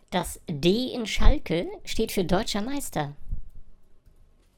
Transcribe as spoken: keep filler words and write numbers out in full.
Das D in Schalke steht für Deutscher Meister.